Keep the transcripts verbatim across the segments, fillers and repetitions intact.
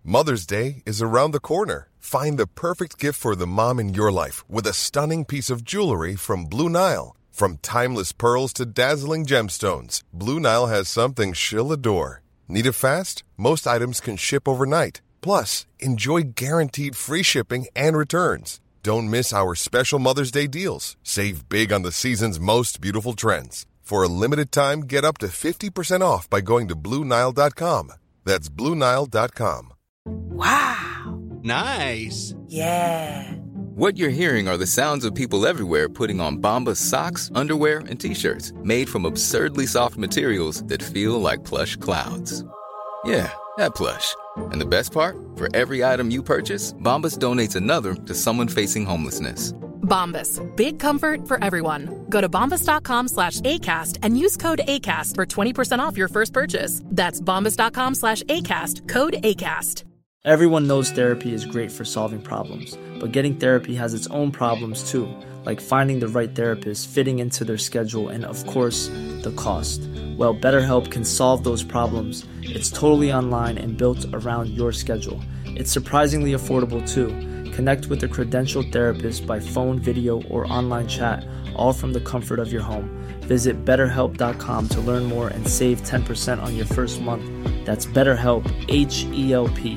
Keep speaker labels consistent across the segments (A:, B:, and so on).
A: Mother's Day is around the corner. Find the perfect gift for the mom in your life with a stunning piece of jewelry from Blue Nile. From timeless pearls to dazzling gemstones, Blue Nile has something she'll adore. Need it fast? Most items can ship overnight. Plus, enjoy guaranteed free shipping and returns. Don't miss our special Mother's Day deals. Save big on the season's most beautiful trends. For a limited time, get up to fifty percent off by going to Blue Nile dot com. That's Blue Nile dot com.
B: Wow.
C: Nice.
B: Yeah.
D: What you're hearing are the sounds of people everywhere putting on Bombas socks, underwear, and T-shirts made from absurdly soft materials that feel like plush clouds. Yeah, that plush. And the best part? For every item you purchase, Bombas donates another to someone facing homelessness.
E: Bombas. Big comfort for everyone. Go to bombas.com slash ACAST and use code ACAST for twenty percent off your first purchase. That's bombas.com slash ACAST. Code ACAST.
F: Everyone knows therapy is great for solving problems, but getting therapy has its own problems too, like finding the right therapist, fitting into their schedule, and of course, the cost. Well, BetterHelp can solve those problems. It's totally online and built around your schedule. It's surprisingly affordable too. Connect with a credentialed therapist by phone, video, or online chat, all from the comfort of your home. Visit better help dot com to learn more and save ten percent on your first month. That's BetterHelp, H E L P.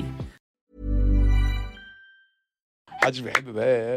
G: محدش بيحب بقى.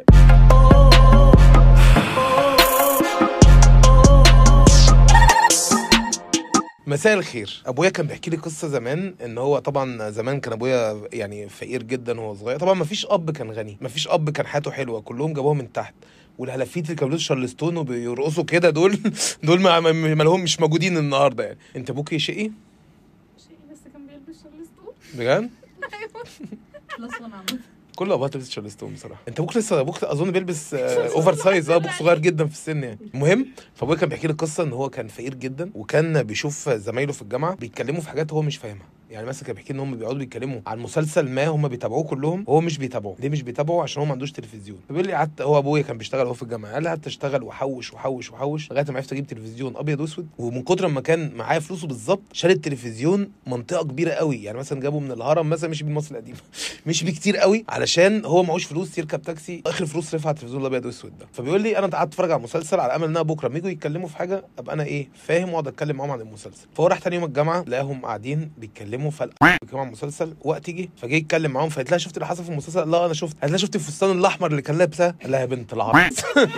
G: مساء الخير. ابويا كان بيحكي لي قصه زمان، ان هو طبعا زمان كان ابويا يعني فقير جدا وهو صغير. طبعا ما فيش اب كان غني، ما فيش اب كان حياته حلوه، كلهم جابوها من تحت. والهلافيت اللي كانوا بيلبسوا شارلستون وبيرقصوا كده دول دول ما, ما لهم مش موجودين النهارده يعني. انت ابوك شقي؟
H: شقي بس كان بيلبس شارلستون
G: بجد؟
H: ايوه خلاص وانا عملت
G: كل ابوات لبس شارلستون بصراحه. انت ابوك لسه ابوك اظن بيلبس اوفر سايز، اه ابوك صغير جدا في السن يعني. المهم فابويا كان بيحكي لي قصه ان هو كان فقير جدا، وكان بيشوف زمايله في الجامعه بيتكلموا في حاجات هو مش فاهمها. يعني مثلا كان بيحكي ان هم بيقعدوا بيتكلموا عن مسلسل ما هم بيتابعوه كلهم، هو مش بيتابعه. ليه مش بيتابعه؟ عشان هو ما عندوش تلفزيون. فبيقول لي قعدت، هو ابويا كان بيشتغل هو في الجامعه، قال لي قعدت اشتغل وحوش وحوش وحوش لغايه ما عرفت اجيب تلفزيون ابيض واسود. ومن كتر ما كان معايا فلوسه بالظبط شال التلفزيون منطقه كبيره قوي. يعني مثلا جابه من الهرم مثلا، مش بمصر القديمه مش بكتير قوي، علشان هو معهوش فلوس يركب تاكسي، اخر فلوس رفع التلفزيون الابيض واسود ده. فبيقول لي انا قعدت اتفرج على المسلسل على امل ان انا بكره لما يجوا يتكلموا في حاجه ابقى انا ايه فاهم واقعد اتكلم معاهم عن المسلسل. فهو راح تاني يوم الجامعه لقاهم قاعدين بيتكلموا في كمان مسلسل، وقت يجي فجاي يتكلم معاهم، فقلت لها شفت اللي حصل في المسلسل؟ لا انا شفت. قالت لها شفت الفستان الاحمر اللي كان لابسه؟ قال لها يا بنت العبط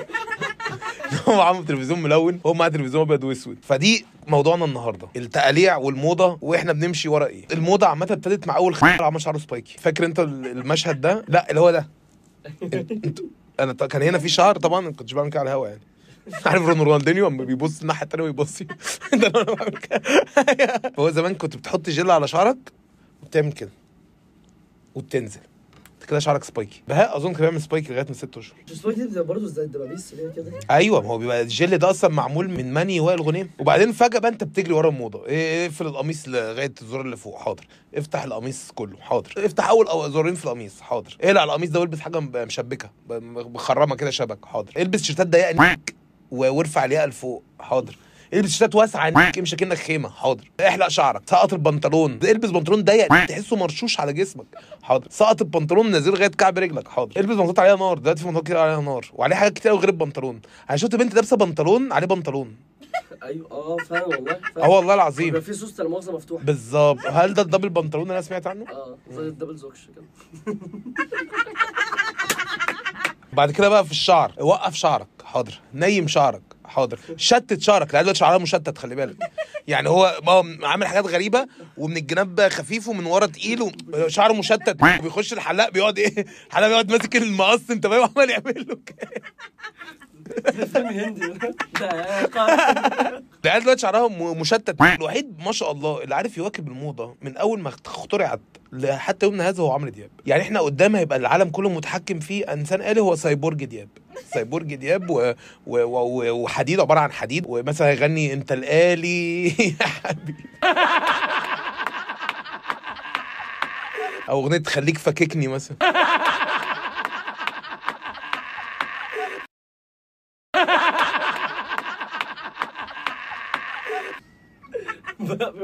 G: هو عامل تلفزيون ملون، هو معاه تلفزيون ابيض واسود. فدي موضوعنا النهارده، التقاليع والموضه، واحنا بنمشي ورا ايه. الموضه عامه ابتدت مع اول خير عمل شعره سبايكي. فاكر انت المشهد ده؟ لا اللي هو ده. انت انا كان هنا في شعر طبعا، ما كنتش بعمل كده على الهوا يعني. عارف رونالدينيو اما بيبص الناحيه الثانيه ويبص ده انا بعمل كده. هو زمان كنت بتحط جل على شعرك وبتعمل كده وبتنزل كده شعرك سبايكي. بهاء اظن كان بيعمل سبايكي لغايه من ست اشهر.
F: سبايكي ده برضه زي الدبابيس كده.
G: ايوه ما هو بيبقى الجل ده اصلا معمول من ماني وائل غنيم. وبعدين فجاه بقى انت بتجري ورا الموضه. اقفل القميص لغايه الزرار اللي فوق، حاضر. افتح القميص كله، حاضر. افتح اول زرارين في القميص، حاضر. اقلع القميص ده والبس حاجه مشبكه مخرمه كده شبك، حاضر. البس شيرتات ضيقه وارفع الياقه لفوق، حاضر. البس شتات واسعه امشي كأنك خيمه، حاضر. احلق شعرك، سقط البنطلون، البس بنطلون ضيق تحسه مرشوش على جسمك، حاضر. سقط البنطلون نازل لغايه كعب رجلك، حاضر. البس بنطلون عليها نار، دلوقتي في بنطلون كتير عليها نار وعليه حاجات كتير قوي غير البنطلون. انا شفت بنت لابسه بنطلون عليه بنطلون.
F: ايوه اه فعلا والله.
G: اه والله العظيم
F: بيبقى في سوسته المؤاخذه مفتوحه
G: بالظبط. هل ده الدبل بنطلون اللي انا سمعت عنه؟
F: اه زي الدبل زوكش كده.
G: بعد كده بقى في الشعر، وقف شعرك، حاضر. نيم شعرك، حاضر. شتت شعرك، لأن دلوقتي شعرها مشتت خلي بالك. يعني هو عامل حاجات غريبه، ومن الجناب خفيف ومن ورا تقيل وشعره مشتت. وبيخش الحلاق بيقعد ايه، الحلاق بيقعد ماسك المقص انت فاهم، عمال يعمل له كده.
F: فيلم هندي
G: ده دلوقتي شعرها مشتت. الوحيد ما شاء الله اللي عارف يواكب الموضه من اول ما اخترعت حتى يومنا هذا هو عمرو دياب. يعني احنا قدام هيبقى العالم كله متحكم فيه انسان آلي، هو سايبورج دياب. سايبورج دياب و... و... و... وحديد، عباره عن حديد، ومثلا يغني انت الآلي يا حبيبي، او اغنيه خليك فككني مثلا.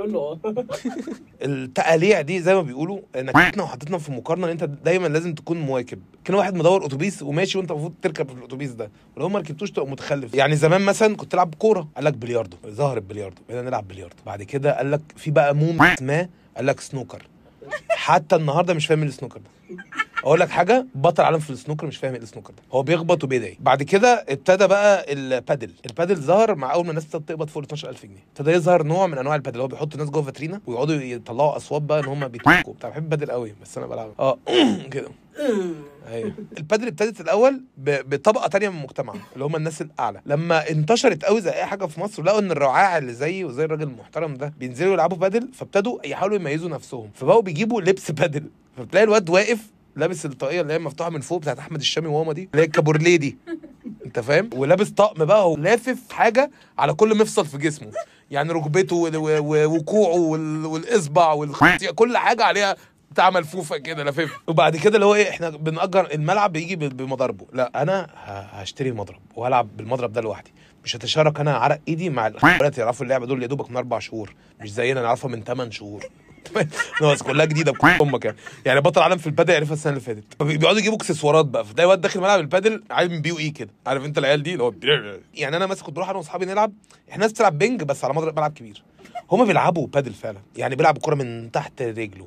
F: بيقول له
G: التقاليع دي زي ما بيقولوا نكتنا وحطتنا في مقارنه ان انت دايما لازم تكون مواكب. كان واحد مدور اتوبيس وماشي وانت المفروض تركب في الاتوبيس ده، ولو ما ركبتوش تبقى متخلف. يعني زمان مثلا كنت تلعب كوره قال لك بلياردو، ظهر البلياردو بقينا نلعب بلياردو. بعد كده قال لك في بقى موم ما قال لك سنوكر. حتى النهارده مش فاهم السنوكر ده. اقول لك حاجه، بطل عالم في السنوكر مش فاهم ايه السنوكر ده، هو بيخبط وبيدعي. بعد كده ابتدى بقى البادل. البادل ظهر مع اول ما الناس تقبض فوق اتناشر ألف جنيه، ابتدى يظهر نوع من انواع البادل، هو بيحط الناس جوه فاترينا ويقعدوا يطلعوا اصوات بقى ان هم بيتكوا بتاع. بحب البادل قوي بس انا بلعب اه كده. ايوه البادل ابتدت الاول بطبقه تانية من المجتمع اللي هم الناس الاعلى. لما انتشرت قوي زي اي حاجه في مصر لقوا ان الرعاع اللي زيي وزي الراجل المحترم ده بينزلوا يلعبوا بادل، فابتدوا يحاولوا يميزوا نفسهم، فبقوا بيجيبوا لبس بادل. فبتلاقي الواد واقف لابس الطاقيه اللي هي مفتوحه من فوق بتاعت احمد الشامي وماما دي اللي هي الكابورليه دي، انت فاهم، ولابس طقم بقى ولافف حاجه على كل مفصل في جسمه، يعني ركبته وكوعه والاصبع والخصيه كل حاجه عليها بتاع ملفوفه كده لفيف. وبعد كده اللي هو ايه، احنا بنأجر الملعب بيجي بمضاربه، لا انا هشتري مضرب وهلعب بالمضرب ده لوحدي، مش هتشارك انا عرق ايدي مع الاخوات يعرفوا اللعبه دول يا دوبك من اربع شهور، مش زينا نعرفها من ثمان شهور. ناس كلها جديده بامك يعني. يعني بطل عالم في البادل عرفها السنه اللي فاتت، بيقعدوا يجيبوا اكسسوارات بقى، فتلاقي واد داخل ملعب البادل عامل من بي او اي كده، عارف انت العيال دي اللي هو يعني. انا مثلا كنت بروح انا واصحابي نلعب، احنا ناس بتلعب بينج بس على مضرب ملعب كبير، هما بيلعبوا بادل فعلا، يعني بيلعبوا الكوره من تحت رجله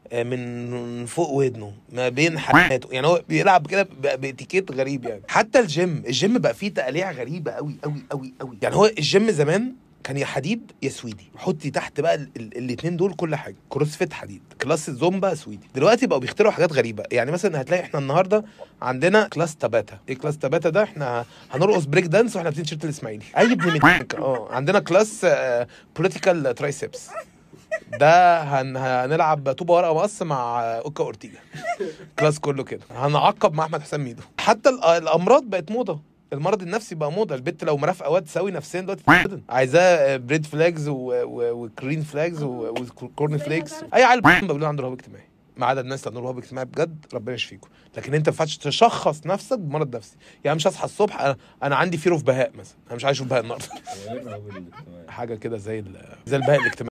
G: من فوق ودنه ما بين حماته، يعني هو بيلعب كده باتيكيت غريب يعني. حتى الجيم الجيم بقى فيه تقاليع غريبه قوي قوي قوي قوي. يعني هو الجيم زمان كان يا حديد يا سويدي، حطي تحت بقى الاثنين دول كل حاجه، كروسفيت حديد، كلاس زومبا سويدي. دلوقتي بقوا بيخترعوا حاجات غريبه، يعني مثلا هتلاقي احنا النهارده عندنا كلاس تاباتا. ايه كلاس تاباتا ده؟ احنا هنرقص بريك دانس واحنا لابسين تيشيرت الاسماعيلي اي ابن متك. اه عندنا كلاس بوليتيكال ترايسبس، ده هن... هنلعب طوبه ورقه مقص مع اوكا اورتيجا، كلاس كله كده. هنعقب مع احمد حسام ميدو. حتى الامراض بقت موضه، المرض النفسي بقى موضه. البت لو مرافقه واد سوي نفسيا دلوقتي عايزاه بريد فلاجز وكرين فلاجز وكورن فليكس. اي عيل بيقولوا عنده رهاب اجتماعي، ما عدا الناس اللي عندهم رهاب اجتماعي بجد ربنا يشفيكم. لكن انت ما ينفعش تشخص نفسك بمرض نفسي. يعني مش هصحى الصبح انا, أنا عندي فير اوف بهاء مثلا، انا مش عايز اشوف بهاء النهارده حاجه كده زي ال... زي البهاء الاجتماعي.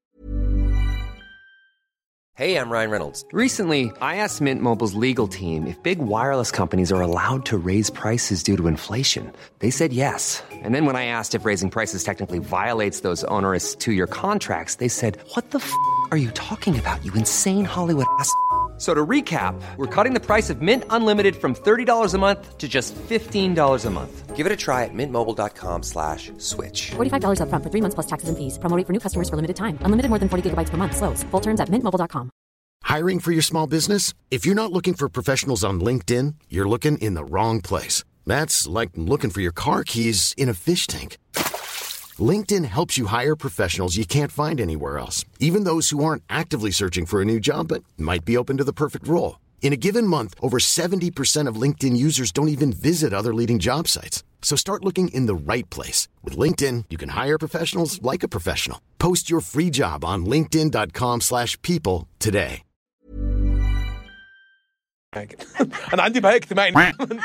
C: Hey, I'm Ryan Reynolds. Recently, I asked Mint Mobile's legal team if big wireless companies are allowed to raise prices due to inflation. They said yes. And then when I asked if raising prices technically violates those onerous two-year contracts, they said, what the f*** are you talking about, you insane Hollywood ass f- So to recap, we're cutting the price of Mint Unlimited from thirty dollars a month to just fifteen dollars a month. Give it a try at mintmobile.com slash switch.
I: forty-five dollars up front for three months plus taxes and fees. Promo rate for new customers for limited time. Unlimited more than forty gigabytes per month. Slows full terms at mint mobile dot com.
J: Hiring for your small business? If you're not looking for professionals on LinkedIn, you're looking in the wrong place. That's like looking for your car keys in a fish tank. LinkedIn helps you hire professionals you can't find anywhere else, even those who aren't actively searching for a new job but might be open to the perfect role. In a given month, over seventy percent of LinkedIn users don't even visit other leading job sites. So start looking in the right place. With LinkedIn, you can hire professionals like a professional. Post your free job on linkedin.com slash people today.
G: أنا عندي بهاء اجتماعي.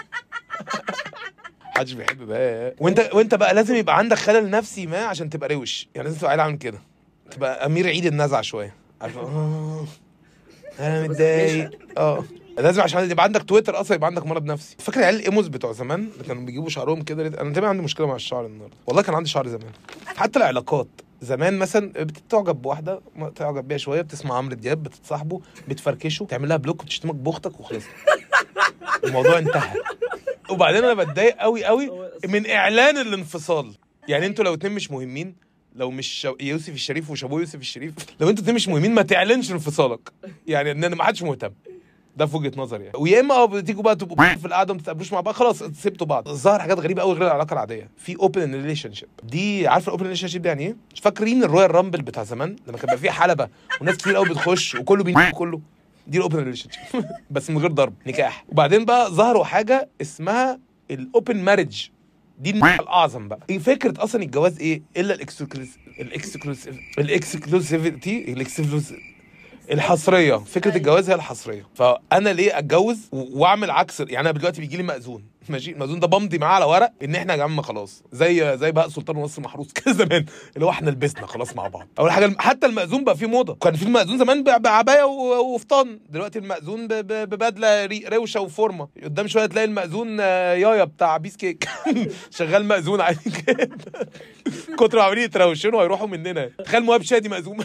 G: محدش بيحب بقى. وانت وانت بقى لازم يبقى عندك خلل نفسي ما عشان تبقى روش، يعني لازم تبقى عيل عامل كده، تبقى امير عيد النزعه شويه، عارف اه انا متضايق اه لازم عشان يبقى عندك تويتر اصلا يبقى عندك مرض نفسي. فاكر العيال الايموز بتوع زمان اللي كانوا بيجيبوا شعرهم كده؟ انا دايما عندي مشكله مع الشعر النهارده، والله كان عندي شعر زمان. حتى العلاقات زمان مثلا بتتعجب بواحده تعجب بيها شويه، بتسمع عمرو دياب، بتتصاحبه، بتفركشه، تعمل لها بلوك وتشتمك باختك وخلص الموضوع انتهى. وبعدين انا بتضايق قوي قوي من اعلان الانفصال. يعني انتوا لو اتنين مش مهمين، لو مش يوسف الشريف وشابو يوسف الشريف، لو انتوا اتنين مش مهمين ما تعلنش انفصالك، يعني ان ما حدش مهتم، ده في وجهه نظري يعني. ويا اما بتيجوا بقى تبقوا في القعده ما تتقابلوش مع بعض، خلاص سبتوا بعض. ظهر حاجات غريبه قوي غير العلاقه العاديه، في اوبن ريليشن شيب. دي عارفه الاوبن ريليشن شيب دي يعني ايه؟ مش فاكرين الرويال رامبل بتاع زمان لما كان بقى فيه حلبه وناس كتير قوي بتخش وكله بينام كله؟ دي الاوبن ريليشن شيب بس من غير ضرب، نكاح. وبعدين بقى ظهروا حاجه اسمها الاوبن ماريج، دي الاعظم بقى. ايه فكره اصلا الجواز ايه الا الاكسكلوسيف الاكسكلوسيف الاكسكلوسيفيتي الاكسكلوسيف الحصريه، فكره الجواز هي الحصريه. فانا ليه اتجوز واعمل عكس؟ يعني انا دلوقتي بيجي لي مأذون، ماشي، المأذون ده بمضي معاه على ورق ان احنا يا جماعه خلاص، زي زي بقى سلطان ونصر محروس كده زمان، اللي هو احنا لبسنا خلاص مع بعض. اول حاجه حتى المأذون بقى فيه موضه، كان في المأذون زمان بعبايه وفطان، دلوقتي المأذون ببدله روشه وفورمه. قدام شويه تلاقي المأذون يايا بتاع بيس كيك شغال مأذون عادي كده كتر عاملين يتروشنوا ويروحوا مننا. تخيل موهب شادي مأذون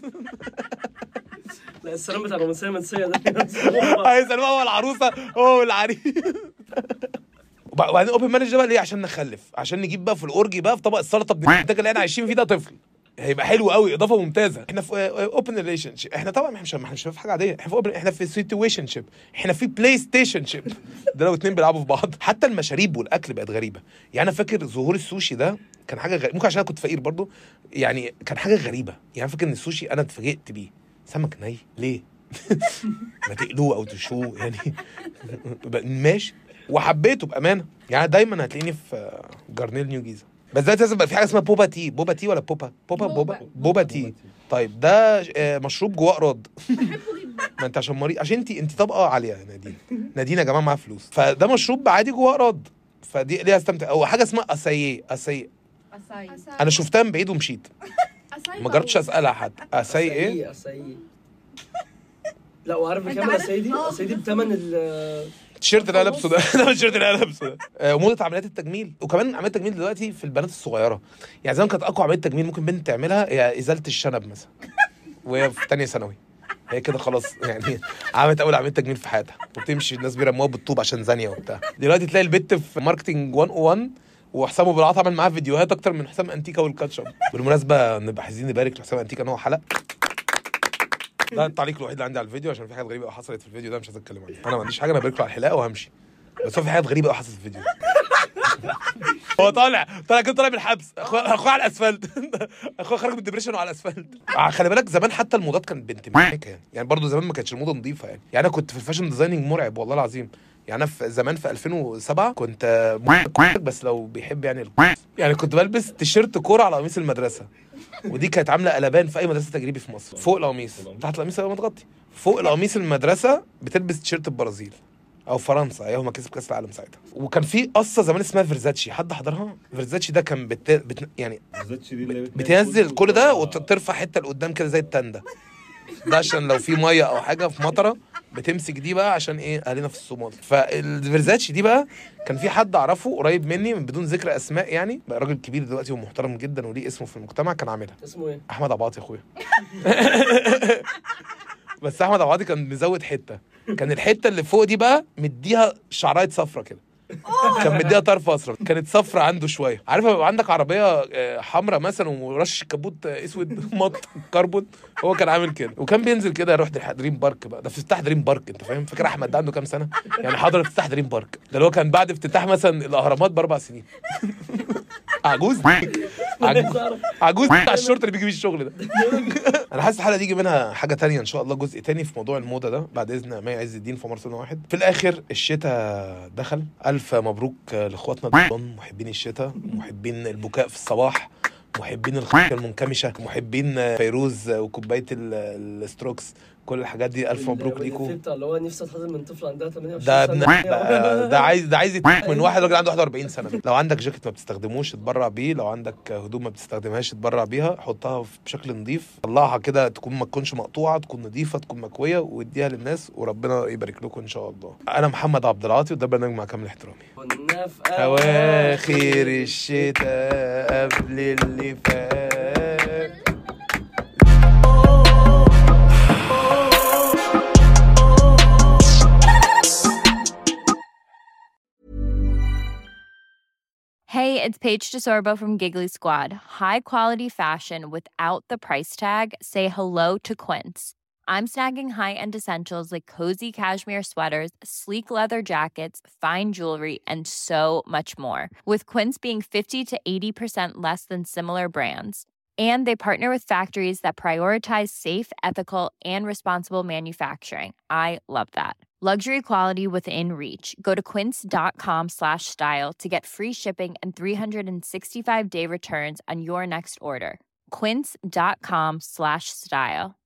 K: لا السلام بتاع الرومانسيه المنسيه ده
G: هيسأل بقى هو العروسه هو العريس. وبعدين اوبن مانج ده بقى ليه؟ عشان نخلف، عشان نجيب بقى في الاورجي بقى في طبق السلطه بنتاج اللي احنا عايشين فيه ده طفل، هيبقى حلو قوي، اضافه ممتازه. احنا في اوبن ريليشن شيب، احنا طبعا احنا مش احنا مش في حاجه عاديه، احنا في اوبن، احنا في سيتويشن شيب، احنا في بلاي ستيشن شيب. ده لو اتنين بيلعبوا في بعض. حتى المشاريب والاكل بقت غريبه. يعني انا فاكر ظهور السوشي ده كان حاجه غريبه، ممكن عشان انا كنت فقير برضو، يعني كان حاجه غريبه. يعني فاكر ان السوشي انا اتفاجئت بيه، سمك ني ليه؟ ما تقلوه او تشوه يعني ماشي، وحبيته بامانه. يعني دايما هتلاقيني في جارنيل نيو جيزه، بس دلوقتي لازم يبقى في حاجه اسمها بوبا تي. بوبا تي ولا بوبا بوبا بوبا بوبا تي. طيب ده مشروب جواه اقراض ما انت عشان مريض، عشان انت انت طبقه عاليه يا نادين. نادين يا جماعه معاها فلوس، فده مشروب عادي جواه اقراض، فدي ليها استمتع. او حاجه اسمها اساي اساي انا شفتها من بعيد ومشيت ما جربتش اسالها حد. اساي ايه؟
K: اساي لا وعارف بكام اساي دي؟ اساي دي بثمن ال
G: التيشيرت اللي انا لابسه ده. ده التيشيرت اللي انا لابسه ده. وموضه عمليات التجميل، وكمان عمليات التجميل دلوقتي في البنات الصغيره. يعني زمان كانت اقوى عمليه تجميل ممكن بنت تعملها هي ازاله الشنب مثلا وهي في ثانيه ثانوي، هي كده خلاص يعني عملت اول عمليه تجميل في حياتها، وبتمشي الناس بيرموها بالطوب عشان زانيه وبتاع. دلوقتي تلاقي البت في ماركتنج مية وواحد وحسام ابو العاط عمل معاه فيديوهات اكتر من حسام انتيكا والكاتشب. بالمناسبه نبقى عايزين نبارك لحسام انتيكا ان هو حلق. ده التعليق الوحيد اللي عندي على الفيديو، عشان في حاجات غريبه حصلت في الفيديو ده مش عايز اتكلم عنها. انا ما عنديش حاجه، انا بارك له على الحلاقه وهمشي، بس هو في حاجات غريبه قوي حصلت في الفيديو. هو طالع طالع كده طالع من الحبس، اخوه على الاسفلت اخوه خرج من الدبريشن وعلى الاسفلت. خلي بالك زمان حتى الموضات كانت بنت ميكه يعني، يعني برضه زمان ما كانتش الموضه نظيفه يعني. يعني انا كنت في الفاشن ديزايننج مرعب والله العظيم. يعني انا في زمان في ألفين وسبعة كنت بس لو بيحب يعني يعني كنت بلبس تيشيرت كوره على قميص المدرسه، ودي كانت عامله قلبان في اي مدرسه تجريبي في مصر. فوق القميص، تحت القميص يبقى متغطي، فوق القميص المدرسه بتلبس تيشيرت البرازيل او فرنسا، ايام ما كسب كاس العالم ساعتها. وكان في قصه زمان اسمها فيرزاتشي، حد حضرها؟ فيرزاتشي ده كان بت... بت... يعني بتنزل كل ده وترفع حته لقدام كده زي التنده ده، عشان لو في ميه او حاجه في مطره بتمسك دي بقى، عشان ايه اهلنا في الصومال. فالفيرزاتشي دي بقى كان في حد اعرفه قريب مني من بدون ذكر اسماء، يعني بقى راجل كبير دلوقتي ومحترم جدا وليه اسمه في المجتمع، كان عاملها.
K: اسمه ايه؟
G: احمد عباطي يا اخويا. بس احمد عباطي كان مزود حته، كان الحته اللي فوق دي بقى مديها شعرايه صفرة كده، كان مديها طرف اصفر، كانت صفرة عنده شويه. عارف لما عندك عربيه حمراء مثلا ورش كبوت اسود مط كربون، هو كان عامل كده. وكان بينزل كده يروح دريم بارك بقى، ده في افتتاح دريم بارك، انت فاهم؟ فاكر احمد ده عنده كام سنه يعني حضر افتتاح دريم بارك ده، اللي هو كان بعد افتتاح مثلا الاهرامات باربع سنين. عجوز عجوز عجوز بتاع الشرطه اللي بيجي بيه الشغل ده. انا حاسس الحلقه دي يجي منها حاجه تانية ان شاء الله، جزء تاني في موضوع الموضه ده بعد اذن مي عز الدين في مرسى واحد. في الاخر الشتاء دخل، الف مبروك لاخواتنا محبين الشتاء، محبين البكاء في الصباح، محبين الخير المنكمشه، محبين فيروز وكوبايه الستروكس، كل الحاجات دي الف مبروك ليكم.
K: اللي هو نفسي اتحضن من طفل عندها ثمانية
G: ده
K: وعشرين سنه،
G: ده, ده عايز ده عايز من واحد راجل عنده واحد وأربعين سنه. لو عندك جاكيت ما بتستخدموش اتبرع بيه، لو عندك هدوم ما بتستخدمهاش اتبرع بيها، حطها بشكل نظيف، طلعها كده تكون ما تكونش مقطوعه، تكون نظيفه، تكون مكويه، واديها للناس وربنا يبارك لكم ان شاء الله. انا محمد عبد العاطي وده برنامج مع كامل احترامي.
K: كنا في
G: اواخر الشتاء قبل اللي فات.
L: Hey, it's Paige DeSorbo from Giggly Squad. High quality fashion without the price tag. Say hello to Quince. I'm snagging high-end essentials like cozy cashmere sweaters, sleek leather jackets, fine jewelry, and so much more. With Quince being fifty to eighty percent less than similar brands. And they partner with factories that prioritize safe, ethical, and responsible manufacturing. I love that. Luxury quality within reach. Go to quince.com slash style to get free shipping and three sixty-five day returns on your next order. Quince.com slash style.